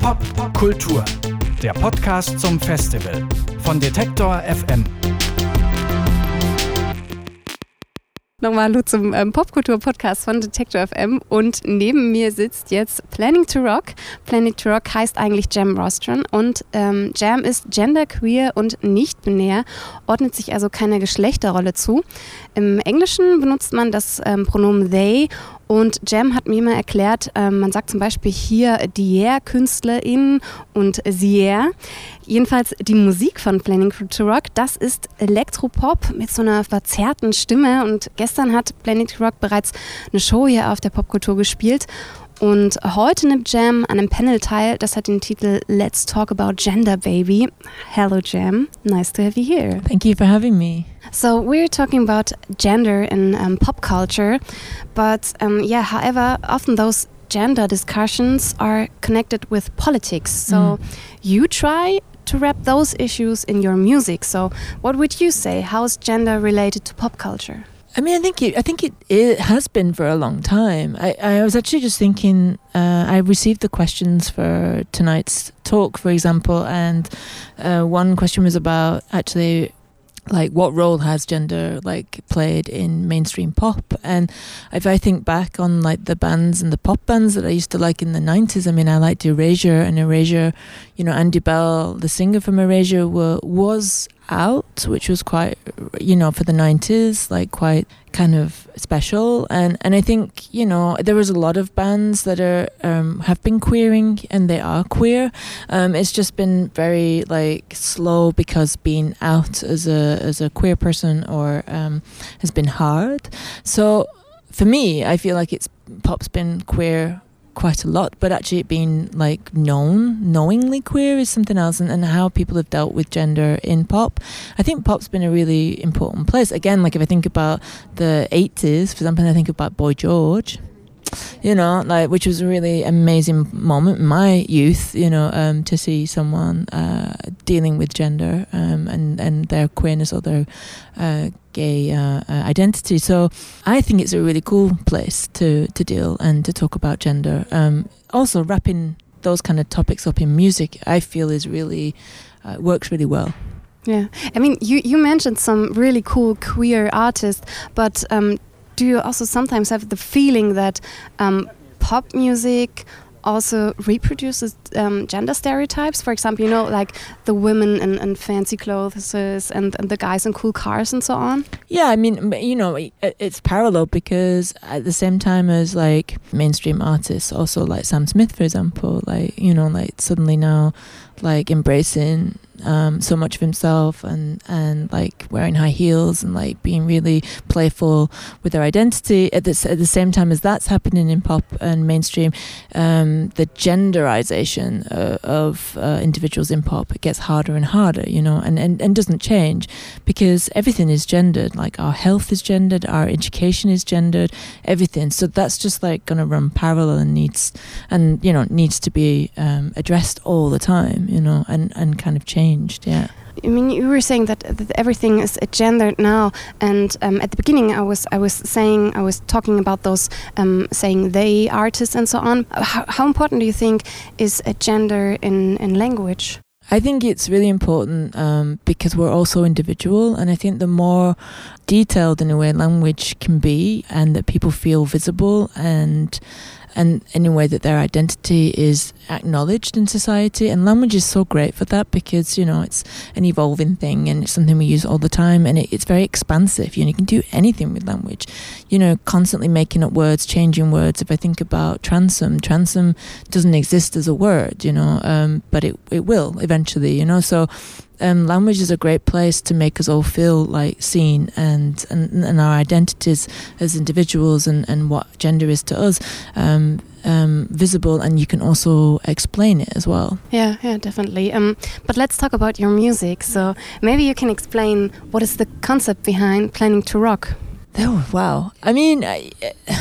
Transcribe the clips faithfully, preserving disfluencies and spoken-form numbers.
Popkultur, der Podcast zum Festival von Detektor F M. Nochmal hallo zum ähm, Popkultur-Podcast von Detektor F M und neben mir sitzt jetzt Planning to Rock. Planning to Rock heißt eigentlich Jam Rostron und ähm, Jam ist genderqueer und nicht-binär, ordnet sich also keiner Geschlechterrolle zu. Im Englischen benutzt man das ähm, Pronomen they und Jam hat mir mal erklärt, ähm, man sagt zum Beispiel hier Dier-KünstlerInnen und Sier. Jedenfalls die Musik von Planning to Rock, das ist Elektropop mit so einer verzerrten Stimme und gestern hat Planning to Rock bereits eine Show hier auf der Popkultur gespielt und heute nimmt Jam an einem Panel teil, das hat den Titel Let's Talk About Gender Baby. Hello Jam, nice to have you here. Thank you for having me. So we're talking about gender in um, pop culture, but um, yeah, however, often those gender discussions are connected with politics. So mm. you try to wrap those issues in your music. So what would you say? How is gender related to pop culture? I mean, I think it, I think it, it has been for a long time. I, I was actually just thinking, uh, I received the questions for tonight's talk, for example, and uh, one question was about actually like what role has gender like played in mainstream pop. And if I think back on like the bands and the pop bands that I used to like in the nineties, I mean, I liked Erasure, and Erasure, you know, Andy Bell, the singer from Erasure, were, was out, which was quite, you know, for the nineties, like quite kind of special. And and I think, you know, there was a lot of bands that are um, have been queering, and they are queer. Um, it's just been very like slow because being out as a as a queer person or um, has been hard. So for me, I feel like it's pop's been queer quite a lot, but actually it being like known, knowingly queer is something else, and, and how people have dealt with gender in pop. I think pop's been a really important place. Again, like if I think about the eighties, for example, I think about Boy George, you know, like which was a really amazing moment in my youth, you know, um, to see someone uh, dealing with gender um, and, and their queerness or their uh, gay uh, uh, identity. So I think it's a really cool place to, to deal and to talk about gender. Um, also wrapping those kind of topics up in music, I feel is really, uh, works really well. Yeah, I mean, you, you mentioned some really cool queer artists, but um, do you also sometimes have the feeling that um, pop music also reproduces um, gender stereotypes? For example, you know, like the women in, in fancy clothes and, and the guys in cool cars and so on? Yeah, I mean, you know, it, it's parallel because at the same time as like mainstream artists, also like Sam Smith, for example, like, you know, like suddenly now like embracing um, so much of himself and, and like wearing high heels and like being really playful with their identity. At the, at the same time as that's happening in pop and mainstream, um, the genderization uh, of uh, individuals in pop, it gets harder and harder, you know, and, and, and doesn't change because everything is gendered. Like our health is gendered, our education is gendered, everything. So that's just like going to run parallel and needs, and, you know, needs to be um, addressed all the time, you know, and, and kind of changed. Yeah. I mean, you were saying that, that everything is gendered now, and um, at the beginning, I was I was saying I was talking about those um, saying they artists and so on. How, how important do you think is a gender in, in language? I think it's really important um, because we're also individual, and I think the more detailed in a way language can be, and that people feel visible and and in a way that their identity is acknowledged in society. And language is so great for that because, you know, it's an evolving thing and it's something we use all the time, and it, it's very expansive. You know, you can do anything with language, you know, constantly making up words, changing words. If I think about transom, transom doesn't exist as a word, you know, um, but it, it will eventually, you know, so Um, language is a great place to make us all feel like seen and, and, and our identities as individuals and, and what gender is to us um, um, visible, and you can also explain it as well. Yeah, yeah, definitely. Um, but let's talk about your music. So maybe you can explain what is the concept behind Planning to Rock? Oh, wow. I mean, I,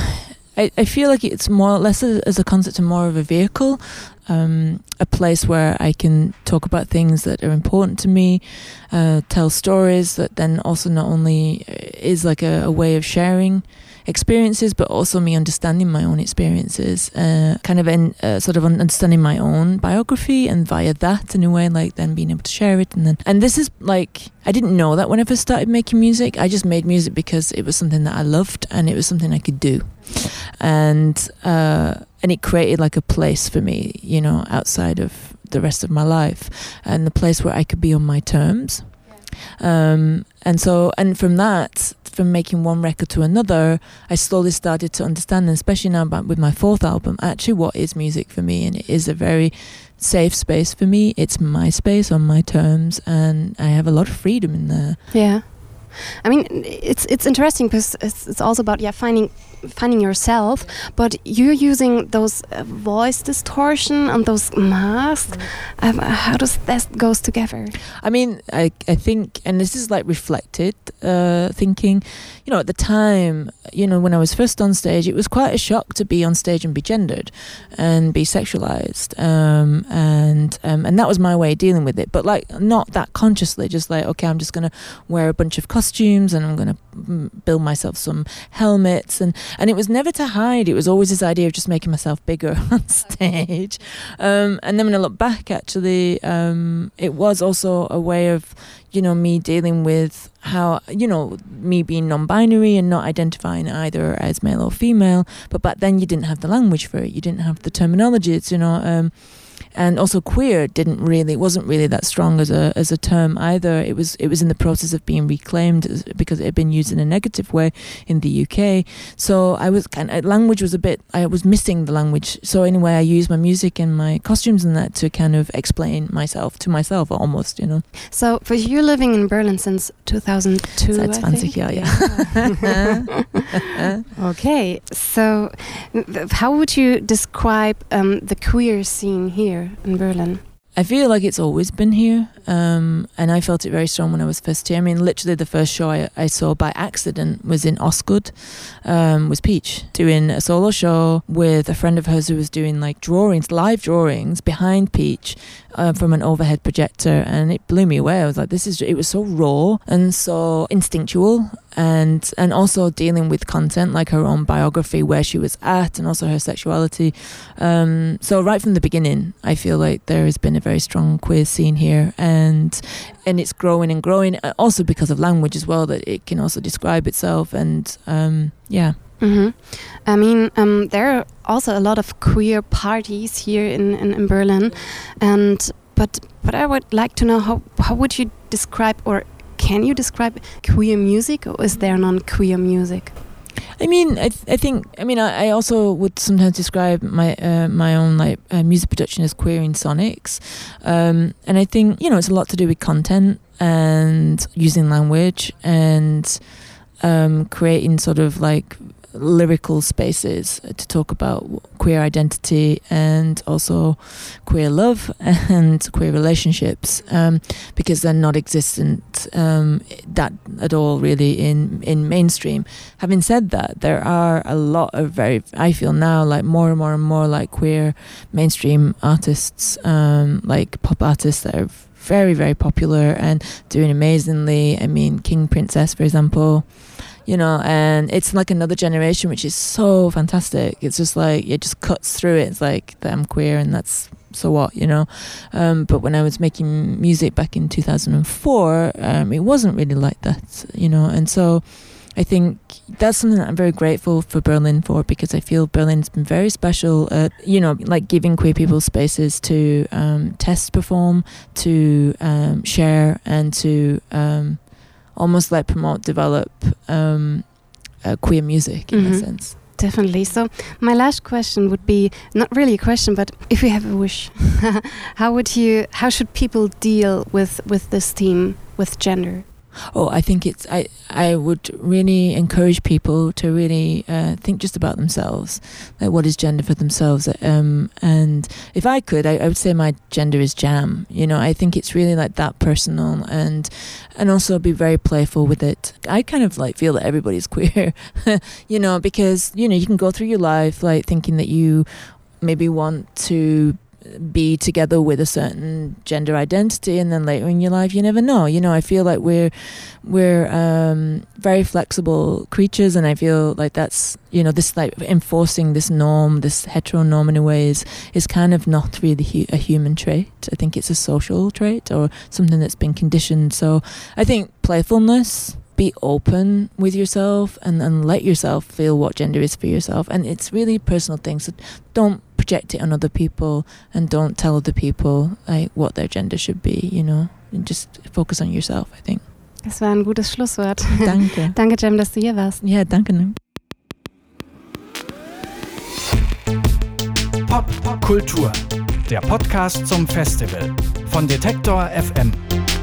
I, I feel like it's more or less as a concept and more of a vehicle. Um, a place where I can talk about things that are important to me, uh, tell stories that then also not only is like a, a way of sharing experiences, but also me understanding my own experiences, uh, kind of in, uh, sort of understanding my own biography, and via that, in a way, like then being able to share it. And then, and this is like, I didn't know that when I first started making music. I just made music because it was something that I loved and it was something I could do, and uh, and it created like a place for me, you know, outside of the rest of my life, and the place where I could be on my terms. Um, and so, and from that, from making one record to another, I slowly started to understand, and especially now about, with my fourth album, actually what is music for me. And it is a very safe space for me. It's my space on my terms, and I have a lot of freedom in there. Yeah. I mean, it's it's interesting because it's, it's also about yeah finding finding yourself, but you're using those uh, voice distortion and those masks. Mm. Um, how does that goes together? I mean, I I think, and this is like reflected uh, thinking. You know, at the time, you know, when I was first on stage, it was quite a shock to be on stage and be gendered and be sexualized, um, and um, and that was my way of dealing with it. But like, not that consciously, just like, okay, I'm just gonna wear a bunch of costumes and I'm gonna build myself some helmets, and and it was never to hide. It was always this idea of just making myself bigger on stage. Um, and then when I look back, actually, um, it was also a way of, you know, me dealing with how, you know, me being non-binary and not identifying either as male or female. But back then you didn't have the language for it. You didn't have the terminologies, you know. Um, and also queer didn't really, wasn't really that strong as a as a term either. It was it was in the process of being reclaimed because it had been used in a negative way in the U K. So I was kind of, language was a bit, I was missing the language. So anyway, I used my music and my costumes and that to kind of explain myself to myself almost, you know. So for you living in Berlin since two thousand two, Seit zwanzig Jahre, yeah. Okay, so how would you describe um, the queer scene here in Berlin? I feel like it's always been here, um, and I felt it very strong when I was first here. I mean, literally the first show I, I saw by accident was in Osgood, um, was Peach, doing a solo show with a friend of hers who was doing like drawings, live drawings behind Peach uh, from an overhead projector, and it blew me away. I was like, this is, it was so raw and so instinctual, and and also dealing with content like her own biography, where she was at, and also her sexuality. Um, so right from the beginning, I feel like there has been a very strong queer scene here, and and it's growing and growing. Also because of language as well, that it can also describe itself, and um, yeah. Mm-hmm. I mean, um, there are also a lot of queer parties here in, in, in Berlin, and but but I would like to know how how would you describe, or can you describe queer music, or is there non-queer music? I mean, I, th- I think, I mean, I, I also would sometimes describe my uh, my own like uh, music production as queer in sonics, um, and I think, you know, it's a lot to do with content and using language and um, creating sort of like lyrical spaces to talk about queer identity and also queer love and queer relationships, um, because they're not existent um, that at all really in, in mainstream. Having said that, there are a lot of very, I feel now, like more and more and more like queer mainstream artists, um, like pop artists that are very, very popular and doing amazingly. I mean, King Princess, for example, you know, and it's like another generation, which is so fantastic. It's just like, it just cuts through it. It's like, I'm queer and that's, so what, you know. Um, but when I was making music back in two thousand four, um, it wasn't really like that, you know. And so I think that's something that I'm very grateful for Berlin for, because I feel Berlin's been very special at, you know, like giving queer people spaces to um, test, perform, to um, share, and to um, almost like promote, develop um, uh, queer music in mm-hmm. a sense. Definitely. So my last question would be, not really a question, but if you have a wish, how would you, how should people deal with, with this theme, with gender? Oh, I think it's, I, I would really encourage people to really uh, think just about themselves, like what is gender for themselves. Um, and if I could, I, I would say my gender is jam. You know, I think it's really like that personal, and and also be very playful with it. I kind of like feel that everybody's queer, you know, because, you know, you can go through your life like thinking that you maybe want to be together with a certain gender identity, and then later in your life you never know. You know, I feel like we're we're um, very flexible creatures, and I feel like that's, you know, this like enforcing this norm, this heteronorm in a way is, is kind of not really hu- a human trait. I think it's a social trait or something that's been conditioned. So I think playfulness, be open with yourself and, and let yourself feel what gender is for yourself. And it's really a personal thing. So don't project it on other people and don't tell other people like what their gender should be, you know. And just focus on yourself, I think. Das war ein gutes Schlusswort. Danke. Danke, Jem, dass du hier warst. Ja, danke. Ne? Popkultur, der Podcast zum Festival von Detektor F M.